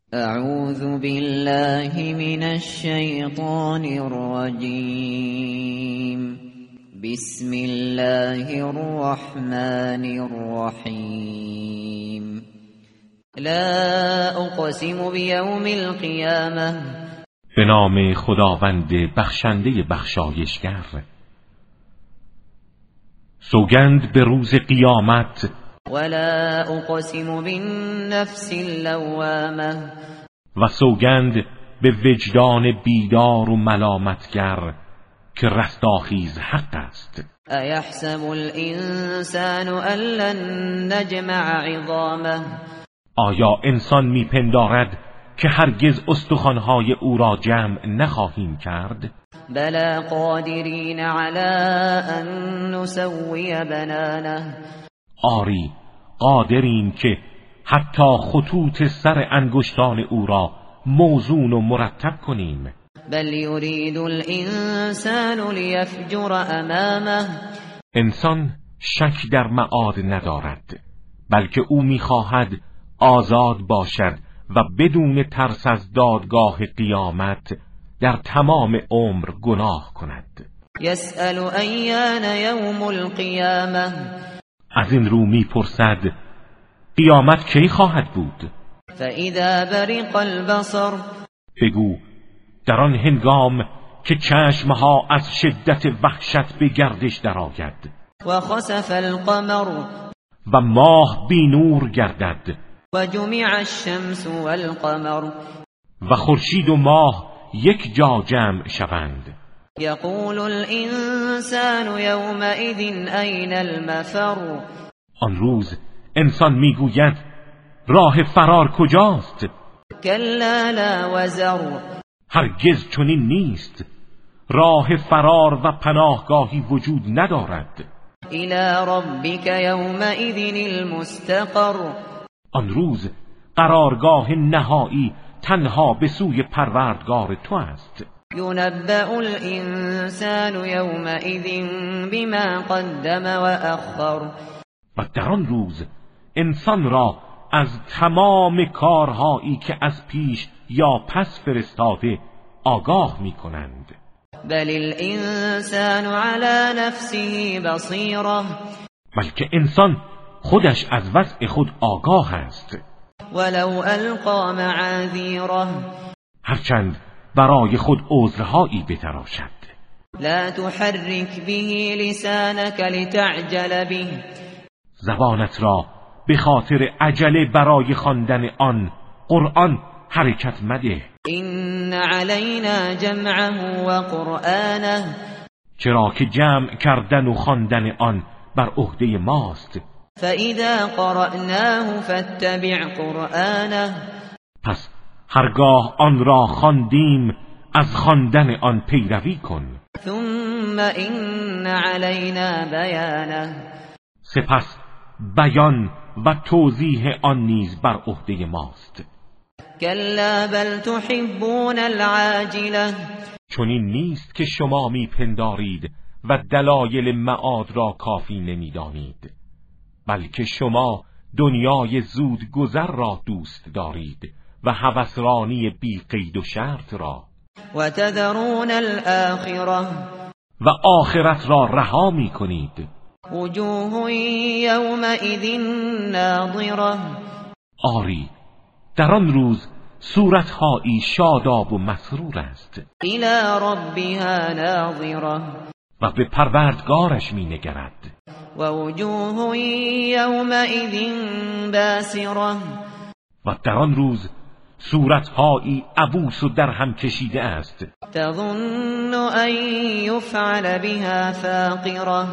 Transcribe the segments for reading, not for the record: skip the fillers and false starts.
اعوذ بالله من الشیطان الرجیم. بسم الله الرحمن الرحیم. لا اقسم بیوم القیامة. به نام خداوند بخشنده بخشایشگر. سوگند به روز قیامت. ولا اقسم بالنفس اللوامة. و سوگند به وجدان بیدار و ملامتگر که رستاخیز حق است. ایحسب الانسان ان لن نجمع عظامه. آیا انسان میپندارد که هرگز استخوان‌های او را جمع نخواهیم کرد؟ بلا قادرین علی ان نسوی بنانه. آری قادریم که حتی خطوط سر انگشتان او را موزون و مرتب کنیم. بل یرید الانسان لیفجر امامه. انسان شک در معاد ندارد، بلکه او می‌خواهد آزاد باشد و بدون ترس از دادگاه قیامت در تمام عمر گناه کند. یسأل ایان یوم القیامة. از این رو میپرسد قیامت کی خواهد بود؟ فاذا برق البصر. بگو در آن هنگام که چشمها از شدت وحشت به گردش درآید و خسف القمر. و ماه بی نور گردد و جمع الشمس والقمر. و خورشید و ماه یک جا جمع شوند. یقول الانسان یومئذ این المفر. آن روز انسان میگوید راه فرار کجاست؟ کلا لا وزر. هرگز چنین نیست. راه فرار و پناهگاهی وجود ندارد. الی ربک یومئذ المستقر. آن روز قرارگاه نهایی تنها به سوی پروردگار تو است. ینبأ الانسان یومئذ بما قدم و اخر. و در آن روز انسان را از تمام کارهایی که از پیش یا پس فرستاده آگاه می کنند. بل الانسان علی نفسه بصیره. بلکه انسان خودش از وضع خود آگاه است. ولو القی معاذیره. هرچند برای خود عذرهایی بتراشد. لا تحرک به لسانک لتعجل به. زبانت را به خاطر عجله برای خواندن آن قرآن حرکت مده. این علینا جمعه و قرآنه. چرا که جمع کردن و خواندن آن بر عهده ماست. فاذا قرأناه فاتبع قرآنه. پس هرگاه آن را خواندیم از خواندن آن پیروی کن. ثم این علینا بیانه. سپس بیان و توضیح آن نیز بر عهده ماست. کلا بل تحبون العاجله. چنین نیست که شما میپندارید و دلایل معاد را کافی نمیدانید، بلکه شما دنیای زود گذر را دوست دارید و هوسرانی بی قید و شرط را. و تذرون الاخره. و آخرت را رها میکنید. وجوه یومئذ ناظره. آری در آن روز صورتهایی شاداب و مسرور است. الی ربها ناظره. و به پروردگارش می نگرد. و وجوه یومئذ باسره. و در آن روز صورتهایی عبوس و در هم کشیده است. تظن ان یفعل بها فاقره.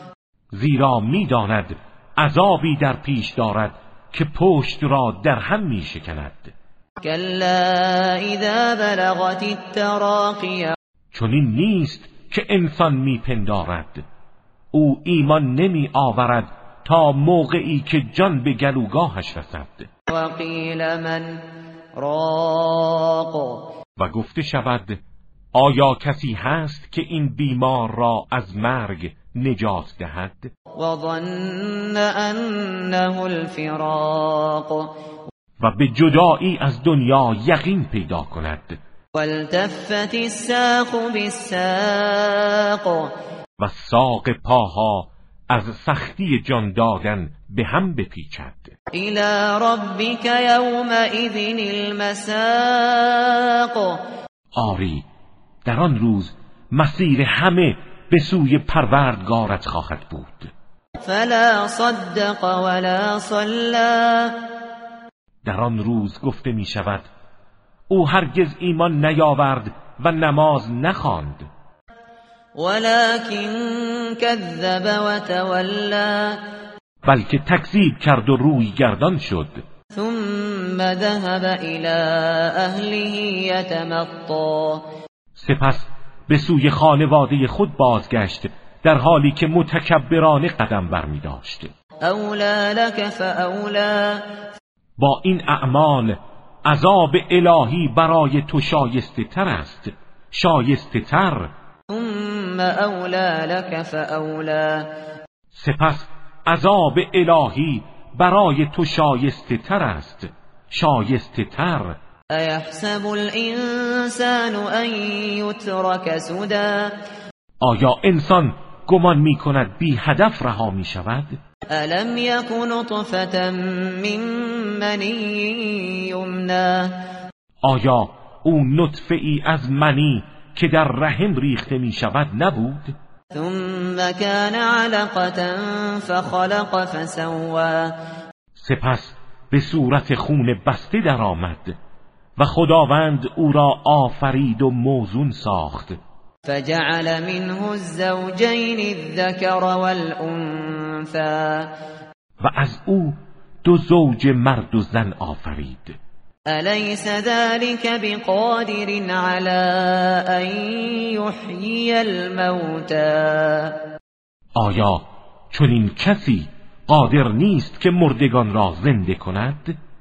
زیرا می داند عذابی در پیش دارد که پشت را در هم می شکند. کلا اذا بلغت التراقی. چنین نیست که انسان می پندارد. او ایمان نمی آورد تا موقعی که جان به گلوگاهش رسد. و قیل من راق. و گفته شود آیا کسی هست که این بیمار را از مرگ نجات دهد؟ و ظن انه الفراق. و به جدایی از دنیا یقین پیدا کند. والتفت الساق بالساق و ساق پاها از سختی جان دادن به هم بپیچد. إلى ربك يومئذ المساق آری در آن روز مسیر همه به سوی پروردگارت خواهد بود. فلا صدق ولا صلى در آن روز گفته می شود او هرگز ایمان نیاورد و نماز نخواند، ولكن كذب وتولى بلکه تکذیب کرد و روی گردان شد. ثم ذهب إلى أهله يتمطى سپس به سوی خانواده خود بازگشت در حالی که متکبرانه قدم برمی داشت. أولى لك فأولى با این اعمال عذاب الهی برای تو شایسته تر است، شایسته تر. ثم أولى لك فأولى سپس عذاب الهی برای تو شایسته تر است، شایسته تر. أيحسب الإنسان أن يترك سدى آیا انسان گمان می کند بی هدف رها می شود؟ ألم يك نطفة من مني يمنى آیا او نطفه ای از منی که در رحم ریخته می شود نبود؟ ثم كان علقة فخلق فسوى سپس به صورت خون بسته درآمد و خداوند او را آفرید و موزون ساخت. فجعل منه الزوجين الذكر والأنثى و از او دو زوج مرد و زن آفرید. أليس ذلك بقادر على أن يحيي الموتى آیا چنین کسی قادر نیست که مردگان را زنده کند؟